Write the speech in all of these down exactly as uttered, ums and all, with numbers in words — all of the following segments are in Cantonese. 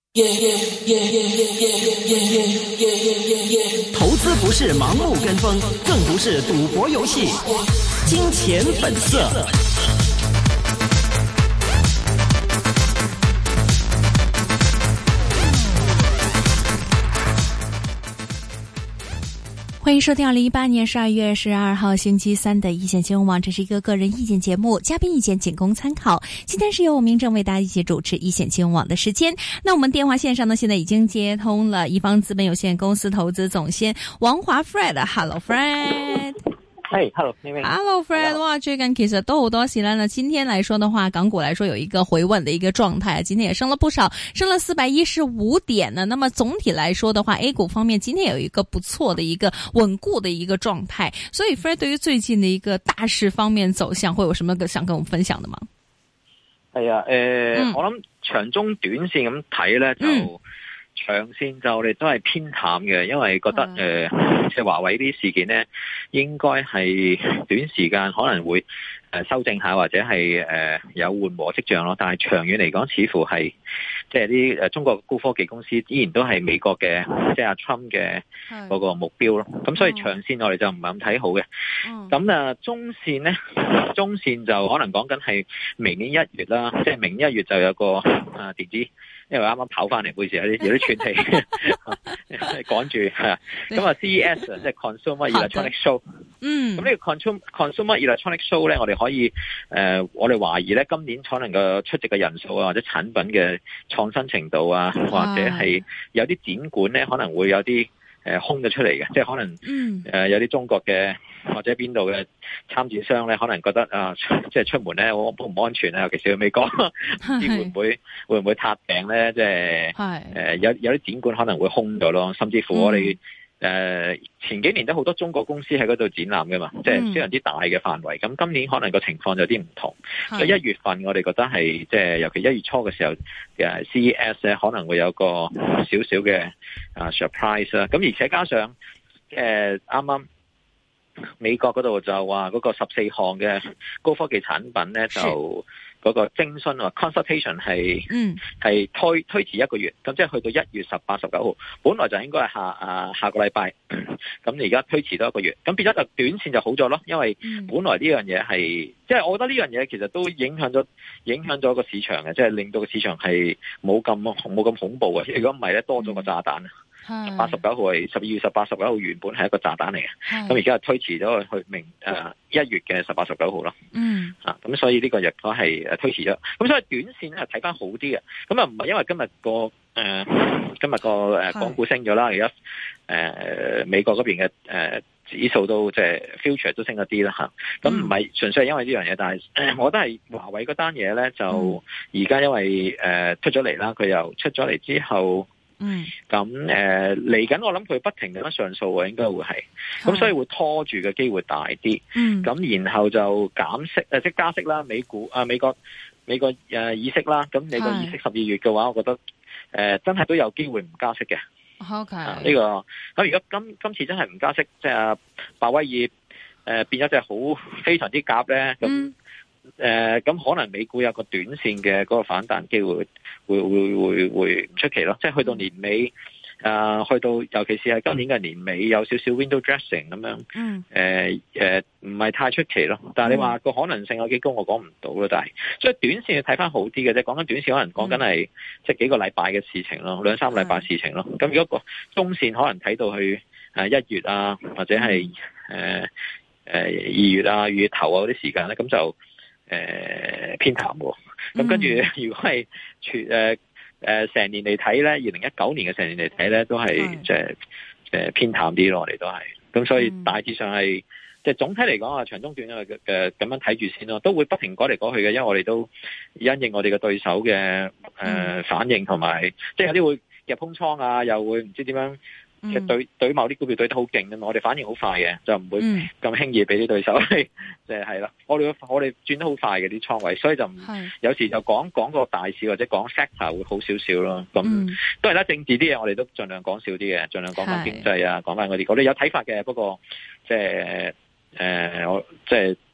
投資不是盲目跟風，更不是賭博遊戲。金錢本色。 欢迎收听二零一八年十二月十二号星期三的一线新闻网，这是一个个人意见节目，嘉宾意见仅供参考。今天是由我明正为大家一起主持一线新闻网的时间。那我们电话线上呢，现在已经接通了一方资本有限公司投资总监王華 Fred。Hello Fred。 Hey, hello, 明明 Hello, Fred。哇，最近其實都好多事啦。那今天來說的話，港股來說有一個回穩的一個狀態，今天也升了不少，升了四百一十五點呢。那麼總體來說的話 ，A 股方面今天有一個不錯的一個穩固的一個狀態。所以 Fred 對於最近的一個大市方面走向，會有什麼個想跟我們分享的嗎？ 係啊，誒、呃嗯，我諗長中短線咁睇咧就。嗯長線就我哋都係偏淡嘅，因為覺得誒，即係華為呢啲事件咧，應該係短時間可能會誒修正下，或者係誒有緩和跡象咯。但係長遠嚟講，似乎係即係啲誒中國高科技公司依然都係美國嘅，即係阿 Trump 嘅嗰個目標咯。咁所以長線我哋就唔係咁睇好嘅。咁啊，中線咧，中線就可能講緊係明年一月啦，即係明年一月就有個啊電子。因為啱啱跑翻嚟，每時有啲有啲喘氣，趕住係啊。咁啊 C E S 即係 Consumer Electronic Show。嗯。咁呢個 Consumer Consumer Electronic Show 咧，我哋可以誒、呃，我哋懷疑咧，今年可能個出席嘅人數啊，或者產品嘅創新程度啊，或者係有啲展館咧，可能會有啲誒、呃、空咗出嚟嘅，即係可能誒、嗯呃、有啲中國嘅。或者邊度嘅參展商咧，可能覺得啊，即係出門咧，我唔安全啊，尤其是去美國，唔知會唔會會唔會撻訂咧？即係誒、呃、有有啲展館可能會空咗咯，甚至乎我哋誒、嗯呃、前幾年都好多中國公司喺嗰度展覽嘅嘛，即係非常之大嘅範圍。咁今年可能個情況有啲唔同，所以一月份我哋覺得係即係尤其一月初嘅時候嘅 C E S 咧，可能會有個少少嘅啊 surprise 啦。咁而且加上誒啱啱。呃美國嗰度就話嗰個十四項嘅高科技產品咧，就嗰個徵詢啊 consultation 係係推推遲一個月，咁即係去到一月十八、十九號，本來就應該係下啊下個禮拜，咁而家推遲多一個月，咁變咗就短線就好咗咯，因為本來呢樣嘢係即係我覺得呢樣嘢其實都影響咗影響咗個市場嘅，即係令到個市場係冇咁冇咁恐怖嘅，如果唔係咧多咗個炸彈。八十九號係十二月十八、十九號原本係一個炸彈嚟嘅，咁而家係推遲咗去明誒一月嘅十八、十九號咯。嗯，啊，咁所以呢個亦都係誒推遲咗。咁所以短線咧係睇翻好啲嘅。咁啊唔係因為今日個誒今日個誒港股升咗啦，而家誒美國嗰邊嘅誒指數都即係 future 都升咗啲啦嚇。咁唔係純粹係因為呢樣嘢，但係、呃、我覺得係華為嗰單嘢咧就而家因為誒、呃、出咗嚟啦，佢又出咗嚟之後。嗯，咁誒嚟緊，我諗佢不停咁樣上訴啊，應該會係，咁所以會拖住嘅機會大啲。嗯，咁然後就減息誒，即係加息啦，美股啊，美國美國誒議息啦，咁美國議息十二月嘅話，我覺得誒、呃、真係都有機會唔加息嘅。OK，呢、啊這個咁如果今今次真係唔加息，即係阿鮑威爾誒、呃、變咗隻好非常之鴿咧，咁。嗯誒、呃，咁可能美股有個短線嘅嗰個反彈機會，會會會會唔出奇咯。即係去到年尾，誒、呃，去到尤其是係今年嘅年尾，有少少 window dressing 咁樣。嗯。誒、呃、誒，唔、呃、係太出奇咯。但係你話個可能性有幾高，我講唔到咯。但係，所以短線要睇翻好啲嘅啫。講緊短線，可能講緊係即係幾個禮拜嘅事情咯，兩三個禮拜事情咯。咁如果個中線可能睇到去誒一月啊，或者係誒誒二月啊、二月頭啊嗰啲時間咧，咁就。誒、呃，偏淡喎。咁跟住，如果係全誒誒成年嚟睇咧，二零一九年嘅成年嚟睇咧，都係即係誒偏淡啲咯。我哋都係，咁所以大致上係即係總體嚟講啊，長中短嘅嘅咁樣睇住先咯，都會不停改嚟改去嘅，因為我哋都因應我哋嘅對手嘅誒、呃、反應，同埋即係有啲會入空倉啊，又會唔知點樣。其實對對某啲股票對得好勁嘅嘛，我哋反應好快嘅，就唔會咁輕易俾啲對手，即係係啦。我哋我哋轉得好快嘅啲倉位，所以就唔有時就講講個大市或者講 sector 會好少少咯。咁、嗯、都係啦，政治啲嘢我哋都盡量講少啲嘅，盡量講翻經濟啊，講翻嗰啲。我哋有睇法嘅，不過即係誒我即係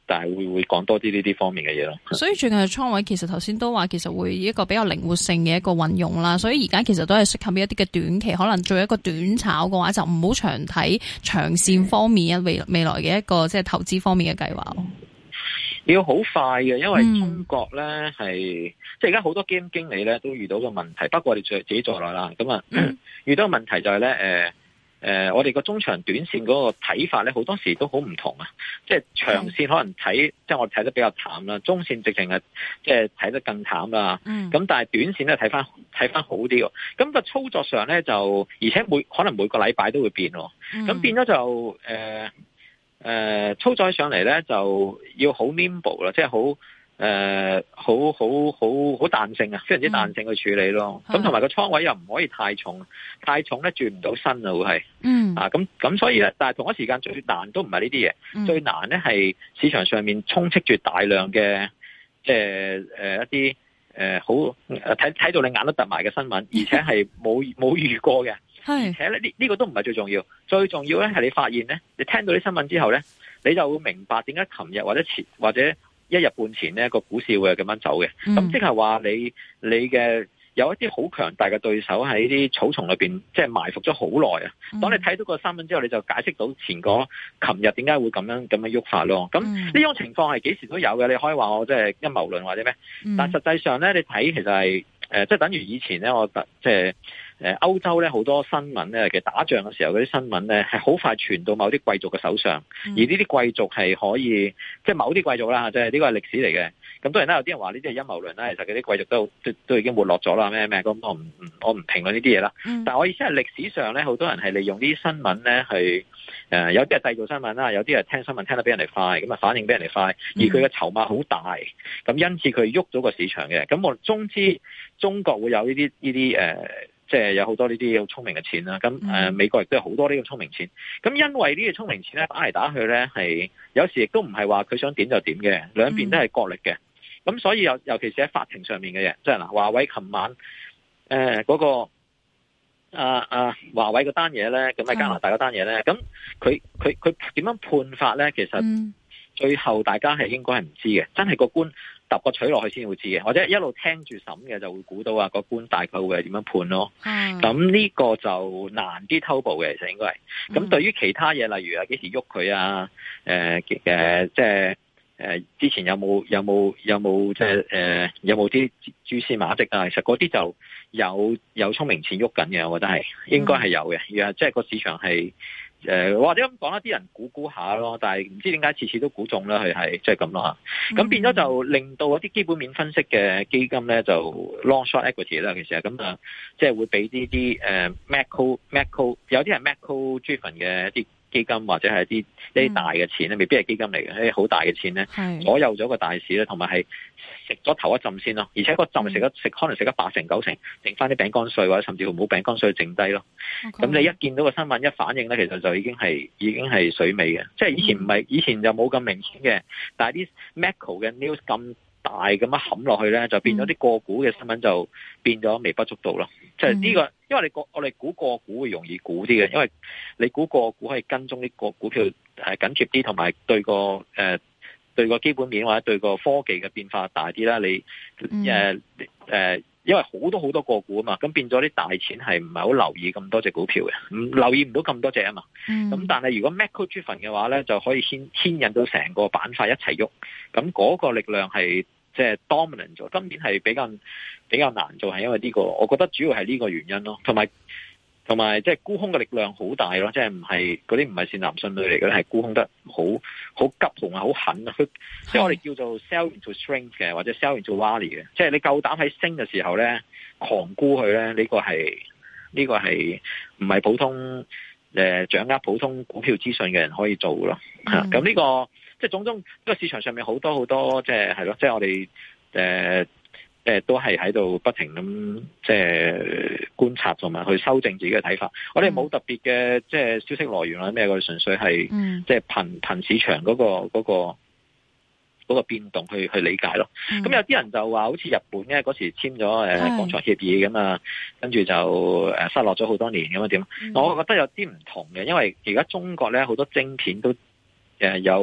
但係會會講多啲呢啲方面嘅嘢咯。 所以最近嘅倉位其實頭先都話，其實會一個比較靈活性嘅一個運用啦。所以而家其實都係適合一啲嘅短期，可能做一個短炒嘅話，就唔好長睇長線方面未未來嘅一個即係投資方面嘅計劃咯。 要好快嘅，因為中國咧係、嗯、即係而家好多基金經理咧都遇到個問題，包括我哋自己在內啦。咁啊，嗯、遇到個問題就係咧，誒、呃、誒、呃，我哋個中長短線嗰個睇法咧，好多時都好唔同啊。即係長線可能睇，嗯、即係我哋睇得比較淡啦，中線直情係即係睇得更淡啦。咁、嗯、但係短線咧睇翻睇翻好啲喎。咁、個操作上咧就，而且每可能每個禮拜都會變喎。咁、嗯、變咗就誒。呃誒、呃，操作上嚟咧就要好 nimble 啦，即係好誒，好好好好彈性啊，非常之彈性去處理咯。咁同埋個倉位又唔可以太重，太重咧轉唔到身啊，會係。嗯。啊，咁咁所以咧，但係同一時間最難都唔係呢啲嘢，嗯、最難咧係市場上面充斥住大量嘅，即係誒一啲誒好睇睇到你眼都突埋嘅新聞，而且係冇冇遇過嘅。而且咧呢呢個都唔係最重要，最重要咧係你發現咧，你聽到啲新聞之後咧，你就會明白點解琴日或者前或者一日半前咧個股市會係咁樣走嘅。咁即係話你你嘅有一啲好強大嘅對手喺啲草叢裏邊，即係埋伏咗好耐啊。當你睇到個新聞之後，你就解釋到前嗰琴日點解會咁樣咁樣喐法咯。咁呢種情況係幾時都有嘅，你可以話我即係陰謀論或者咩？但實際上咧，你睇其實係誒，即係等於以前咧，我即係。誒，歐洲咧好多新聞咧，其實打仗嘅時候嗰啲新聞咧係好快傳到某啲貴族嘅手上，嗯、而呢啲貴族係可以，即係某啲貴族啦，即係呢個係歷史嚟嘅。咁當然啦，有啲人話呢啲係陰謀論啦，其實嗰啲貴族都都都已經沒落咗啦，咩咩咁，我唔我唔評論呢啲嘢啦。嗯、但係我意思係歷史上咧，好多人係利用呢啲新聞咧去誒，有啲係製造新聞啦，有啲係聽新聞聽得比人哋快，咁啊反應比人哋快，而佢嘅籌碼好大，咁因此佢喐咗個市場嘅。咁我中知中國會有呢啲呢啲誒。即係有好多呢啲好聰明嘅錢啦，咁誒、呃、美國亦都有好多呢個聰明錢，咁因為呢個聰明錢咧打嚟打去咧係有時亦都唔係話佢想點就點嘅，兩邊都係角力嘅，咁所以尤尤其是喺法庭上面嘅嘢，即係嗱華為琴晚誒嗰、呃那個啊啊華為嗰單嘢咧，咁喺加拿大嗰單嘢咧，咁佢佢佢點樣判法咧？其實最後大家係應該係唔知嘅，真係個官揼個取落去先會知嘅，或者一路聽住審嘅就會估到啊個官大概會係點樣判咯。咁呢、嗯、個就難啲偷步嘅，其實應該係。咁、嗯、對於其他嘢，例如啊幾時喐佢啊，誒誒即係誒之前有冇有冇有冇即係誒有冇啲蛛絲馬跡啊？其實嗰啲就有有聰明錢喐緊嘅，我覺得係應該係有嘅。而即係個市場係。誒、呃，或者咁講啦，啲人估估下咯，但係唔知點解次次都估中啦，佢係即係咁咯吓。咁、就是、變咗就令到嗰啲基本面分析嘅基金咧，就 long short equity 啦，其實咁啊，即係會俾啲啲誒 macro macro 有啲係 macro driven 嘅一啲基金或者係一啲一啲大嘅錢咧，未必係基金嚟嘅，一啲好大嘅錢咧，左右咗個大市咧，同埋係食咗頭一浸先咯，而且個浸食得食可能食得八成九成，剩翻啲餅乾碎或者甚至乎冇餅乾碎剩低咯。咁 Okay. 你一見到個新聞一反應咧，其實就已經係已經係水尾嘅，即係以前唔係以前就冇咁明顯嘅，但係啲 macro 嘅 news 咁大咁樣冚落去咧，就變咗啲個股嘅新聞就變咗微不足道咯。即係呢個，因為你個我哋估個股會容易估啲嘅，因為你估個股可以跟蹤啲個股票係緊貼啲，同埋對個誒、呃、對個基本面或者對個科技嘅變化大啲啦。你誒誒、呃呃，因為好多好多個股啊嘛，咁變咗啲大錢係唔係好留意咁多隻股票嘅，唔留意唔到咁多隻啊嘛。咁、嗯、但係如果 macro driven 嘅話咧，就可以牽牽引到成個板塊一齊喐，咁嗰個力量係。即係 dominant 咗，今年係比較比較難做，係因為呢個，我覺得主要係呢個原因咯。同埋同埋即係沽空嘅力量好大咯，即係唔係嗰啲唔係善男信女嚟嘅，係沽空得好好急同埋好狠啊！佢即係我哋叫做 sell into strength 嘅，或者 sell into rally 嘅，即係你夠膽喺升嘅時候咧狂沽佢咧，呢個係呢個係唔係普通誒掌握普通股票資訊嘅人可以做咯。嚇咁呢個。即係種種，呢個市場上面好多好多，即係係咯，即係我哋誒誒都係喺度不停咁即係觀察同埋去修正自己嘅睇法。我哋冇特別嘅即係消息來源啦，咩我哋純粹係即係憑憑市場嗰個嗰個嗰個變動去去理解咯。咁、嗯、有啲人就話好似日本咧嗰時簽咗誒廣場協議咁啊，跟住就誒失落咗好多年咁樣點？嗯、我覺得有啲唔同嘅，因為而家中國咧好多晶片都誒有。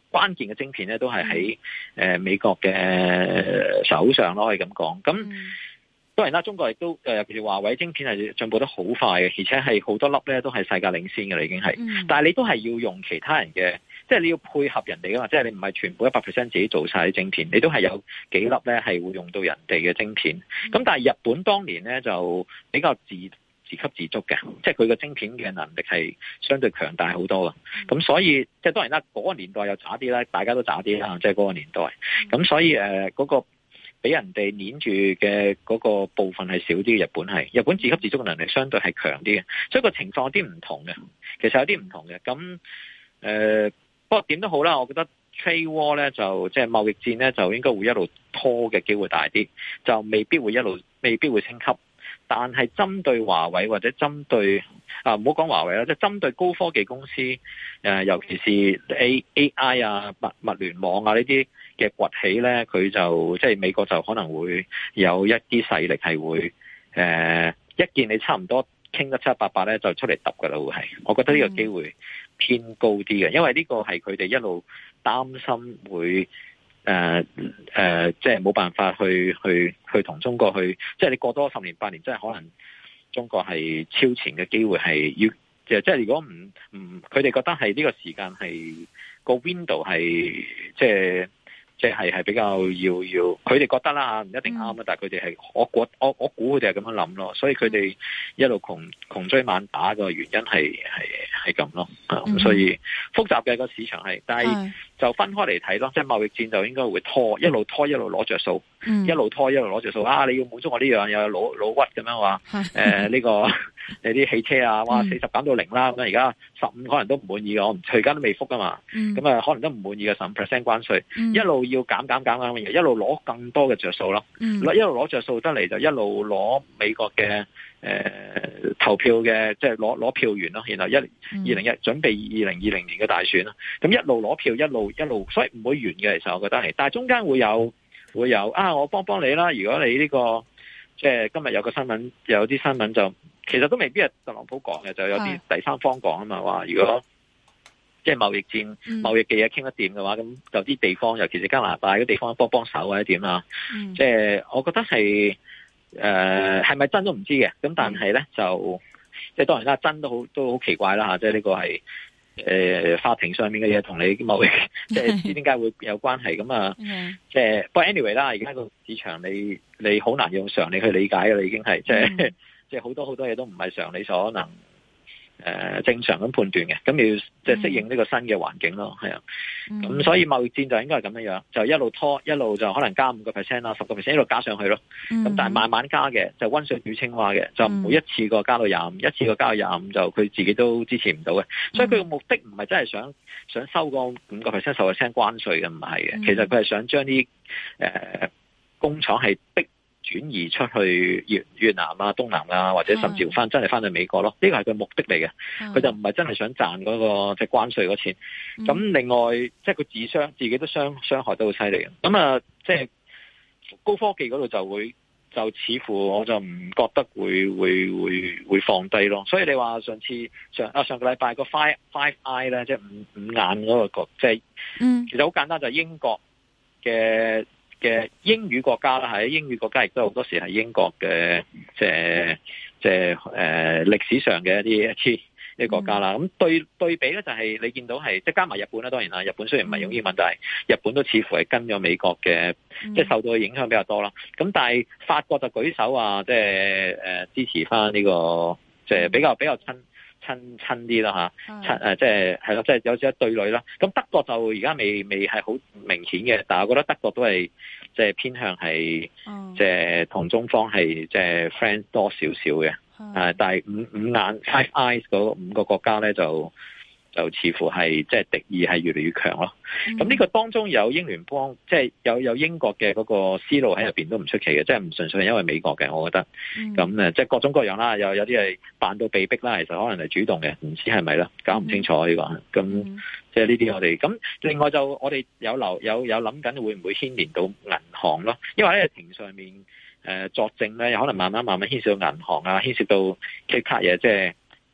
關鍵嘅晶片咧都係喺誒美國嘅手上咯，可以咁講。咁、嗯、當然啦，中國亦都誒，尤其是華為晶片係進步得好快嘅，而且係好多粒咧都係世界領先嘅啦，已經係。嗯、但係你都係要用其他人嘅，即係你要配合人哋噶嘛，即係你唔係全部一百 percent 自己做晒啲晶片，你都係有幾粒咧係會用到人哋嘅晶片。咁、嗯、但係日本當年咧就比較自自給自足嘅，即係佢個晶片嘅能力係相對強大好多嘅。咁、嗯、所以即係當然啦，嗰、那個年代又渣啲啦，大家都渣啲啦，即係嗰個年代。咁、嗯、所以誒，嗰、呃那個俾人哋黏住嘅嗰個部分係少啲嘅。日本係日本自給自足嘅能力相對係強啲嘅，所以個情況有啲唔同嘅。其實有啲唔同嘅。咁誒、呃，不過點都好啦，我覺得 trade war 咧就即係貿易戰咧就應該會一路拖嘅機會大啲，就未必會一路未必會升級。但係針對華為或者針對啊，唔好講華為啦，即係針對高科技公司，誒、呃，尤其是 A A I 啊、物物聯網啊呢啲嘅崛起咧，佢就即係美國就可能會有一啲勢力係會誒、呃，一見你差唔多傾得七七八八咧，就出嚟揼噶啦，會係。我覺得呢個機會偏高啲嘅，因為呢個係佢哋一路擔心會。誒、呃、誒、呃，即係冇辦法去去去同中國去，即係你過多十年八年，即係可能中國係超前嘅機會係要，即係即係如果唔唔，佢哋覺得係呢個時間係個 window 係即係即係係比較要要，佢哋覺得啦，唔一定啱啊，但係佢哋係我估我我估佢哋係咁樣諗咯，所以佢哋一路窮窮追猛打嘅原因係係係咁咯，咁、嗯、所以複雜嘅個市場係，但係。就分開嚟睇咯，即係貿易戰就應該會拖，一路拖一路攞着數，嗯、一路拖一路攞着數。啊，你要滿足我呢樣，又有老老屈咁樣話，誒呢、呃這個你啲汽車啊，哇四十減到零啦，咁而家十五可能都唔滿意嘅，我唔佢而家都未復啊嘛，咁、嗯、啊可能都唔滿意嘅十五 percent 關稅，嗯、一路要減減減減嘅，一路攞更多嘅着數咯，嗯、一路攞着數得嚟就一路攞美國嘅。誒、呃，投票嘅即係攞攞票源咯，然後一二零一準備二零二零年嘅大選咯，咁一路攞票一路一路，所以唔會完嘅。其實我覺得係，但係中間會有會有啊，我幫幫你啦。如果你呢、這個即係今日有個新聞，有啲新聞就其實都未必係特朗普講嘅，就有啲第三方講啊嘛，話如果即係貿易戰、嗯、貿易嘅嘢傾得掂嘅話，咁有啲地方，尤其是加拿大嘅地方幫幫手或者點啦。嗯、即係我覺得係。誒，係咪、呃、真都唔知嘅，咁但係咧就即係當然啦，真都好都好奇怪啦吓，即係呢個係誒、呃、法庭上面嘅嘢同你貿易，即係唔知點解會有關係咁啊？即係不過 anyway 啦，而家個市場你你好難用常理去理解嘅啦，已經係即係即係好多好多嘢都唔係常理所能。誒、呃，正常咁判斷嘅，咁你要即係適應呢個新嘅環境咯，係啊，咁、嗯、所以貿易戰就應該係咁樣樣，就一路拖，一路就可能加五個 percent 啦，十個 percent 一路加上去咯，咁、嗯、但係慢慢加嘅，就溫水煮青蛙嘅，就唔會一次過加到廿五，一次過加到廿五就佢自己都支持唔到嘅，所以佢嘅目的唔係真係想想收個五個 percent 十個 percent 關稅嘅，唔係嘅，其實佢係想將啲誒工廠係逼。轉移出去越越南啊、東南啊，或者甚至乎翻真係翻去美國咯，呢個係佢目的嚟嘅。佢的就唔係真係想賺嗰、那個即係、就是、關稅嗰錢。咁、嗯、另外，即係佢自傷，自己都傷傷害得好犀利嘅。咁啊，即、就、係、是、高科技嗰度就會就似乎我就唔覺得會會會會放低咯。所以你話上次上啊上個禮拜個 Five Five Eye 咧，即係五五眼嗰個國，即、就、係、是嗯、其實好簡單，就係英國嘅。嘅英語國家啦，喺英語國家亦都好多時係英國嘅，即係即係誒歷史上嘅一啲一啲一啲國家啦。咁、嗯、對對比咧，就係你見到係即係加埋日本啦，當然啦，日本雖然唔係用英文，嗯、但係日本都似乎係跟咗美國嘅，嗯、即係受到嘅影響比較多啦。咁但係法國就舉手話，即係誒支持翻呢個，即係比較比較親。親親啲啦嚇，親誒即係係咯，即係有少少對壘啦。咁德國就而家未未係好明顯嘅，但係我覺得德國都係即係偏向係即係同中方係即係 friend 多少少嘅。誒，但係五五眼 Five Eyes 嗰五個國家咧就。就似乎係即係敵意係越嚟越強咯。咁呢、嗯、個當中有英聯邦，即、就、係、是、有有英國嘅嗰個思路喺入邊都唔出奇嘅，即係唔純粹係因為美國嘅，我覺得。咁誒、嗯，即係各種各樣啦，有有啲係扮到被逼啦，其實可能係主動嘅，唔知係咪啦，搞唔清楚呢、這個。咁即係呢啲我哋咁，另外就我哋有留有有諗緊會唔會牽連到銀行咯？因為喺庭上面誒、呃、作證咧，有可能慢慢慢慢牽涉到銀行啊，牽涉到其他嘢，即係。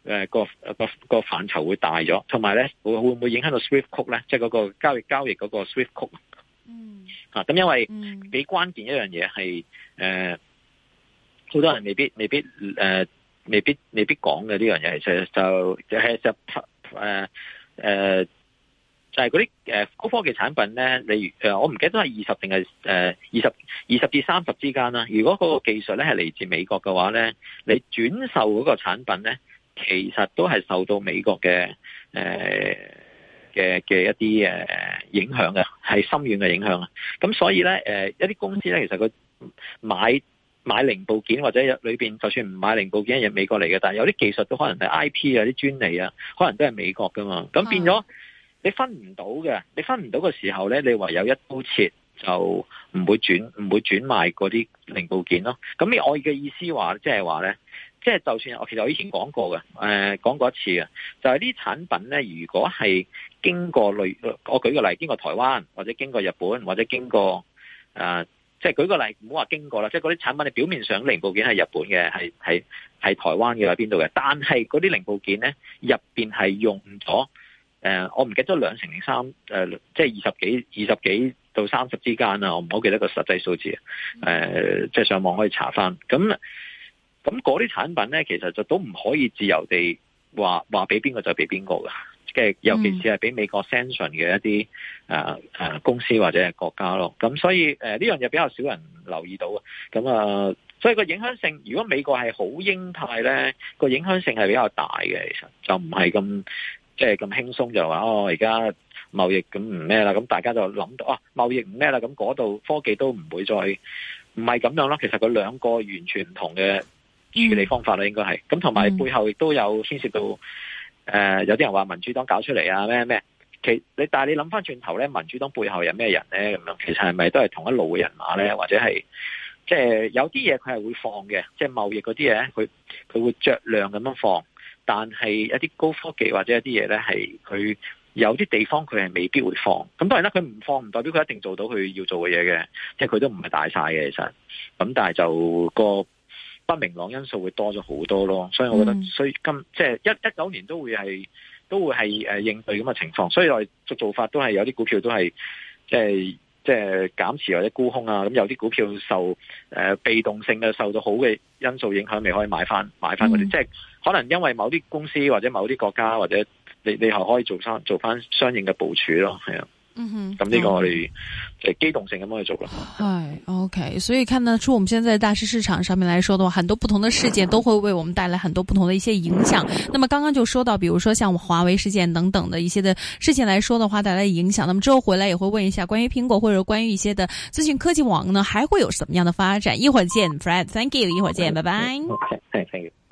誒個個個範疇會大咗，同埋咧會會唔會影響到 Swift Code 咧？即係嗰個交易交易嗰個 Swift Code。嗯。啊，咁因為幾關鍵一樣嘢係誒，好多人未必未必誒、呃、未必未必講嘅呢樣嘢，其實就就係就誒誒就係嗰啲誒高科技產品咧。例如誒，我唔記得都係二十定係誒二十二十至三十之間啦。如果嗰個技術咧係嚟自美國嘅話咧，你轉售嗰個產品咧，其實都係受到美國嘅誒嘅嘅一啲誒影響嘅，係深遠嘅影響啊。咁所以咧誒一啲公司咧，其實佢買買零部件或者裏邊就算唔買零部件係美國嚟嘅，但係有啲技術都可能係 I P 啊、啲專利啊，可能都係美國噶嘛。咁變咗你分唔到嘅，你分唔到嘅時候咧，你唯有一刀切，就唔會轉唔會轉賣嗰啲零部件咯。咁我嘅意思話，即係話咧，即係就算我其實我以前講過嘅，誒、呃、講過一次嘅，就係啲產品咧，如果係經過類，我舉個例，經過台灣或者經過日本或者經過誒。呃即係舉個例，唔好話經過啦，即係嗰啲產品，你表面上零部件係日本嘅，係係係台灣嘅，喺邊度嘅？但係嗰啲零部件咧，入邊係用咗誒、呃，我唔記得咗兩成零三誒，即係二十幾、二十幾到三十之間啦，我唔好記得個實際數字。誒、呃，即係上網可以查翻。咁咁嗰啲產品咧，其實就都唔可以自由地話話俾邊個就俾邊個㗎。嘅，尤其是係俾美國 sanction 嘅一啲誒誒公司或者係國家咯，咁所以誒呢、呃、樣嘢比較少人留意到啊，咁啊、呃，所以個影響性，如果美國係好鷹派咧，個影響性係比較大嘅，其實就唔係咁即係咁輕鬆就話哦，而家貿易咁唔咩啦，咁大家就諗到哦，貿易唔咩啦，咁嗰度科技都唔會再唔係咁樣咯，其實佢兩個完全唔同嘅處理方法啦，應該係，咁同埋背後亦都有牽涉到。誒、呃，有啲人話民主黨搞出嚟啊，咩咩，其你但係你諗翻轉頭咧，民主黨背後有咩人咧？咁樣其實係咪都係同一路嘅人馬咧？或者係即係有啲嘢佢係會放嘅，即係貿易嗰啲嘢，佢佢會酌量咁樣放，但係一啲高科技或者一啲嘢咧，係佢有啲地方佢係未必會放。咁當然啦，佢唔放唔代表佢一定做到佢要做嘅嘢嘅，即係佢都唔係大晒嘅其實。咁但係就個不明朗因素會多咗好多咯，所以我覺得，所以今即係一一九年都會係都會係誒應對咁嘅情況，所以我哋做做法都係有啲股票都係即係即係減持或者沽空啊，咁有啲股票受誒、呃、被動性嘅受到好嘅因素影響，未可以買翻買翻嗰啲，即係可能因為某啲公司或者某啲國家或者你你係可以做翻做翻相應嘅部署咯，係啊。嗯哼，咁呢個我哋就機動性咁樣去做啦。 係 OK， 所以看得出我們現在大市市場上面來說的話，很多不同的事件都會為我們帶來很多不同的一些影響。那麼剛剛就說到，比如說像華為事件等等的一些的事情來說的話，帶來影響。那麼之後回來也會問一下關於蘋果或者關於一些的資訊科技網呢，還會有什麼樣的發展？一會兒見 ，Fred，Thank you，一會兒見，拜拜。 Okay，thank you。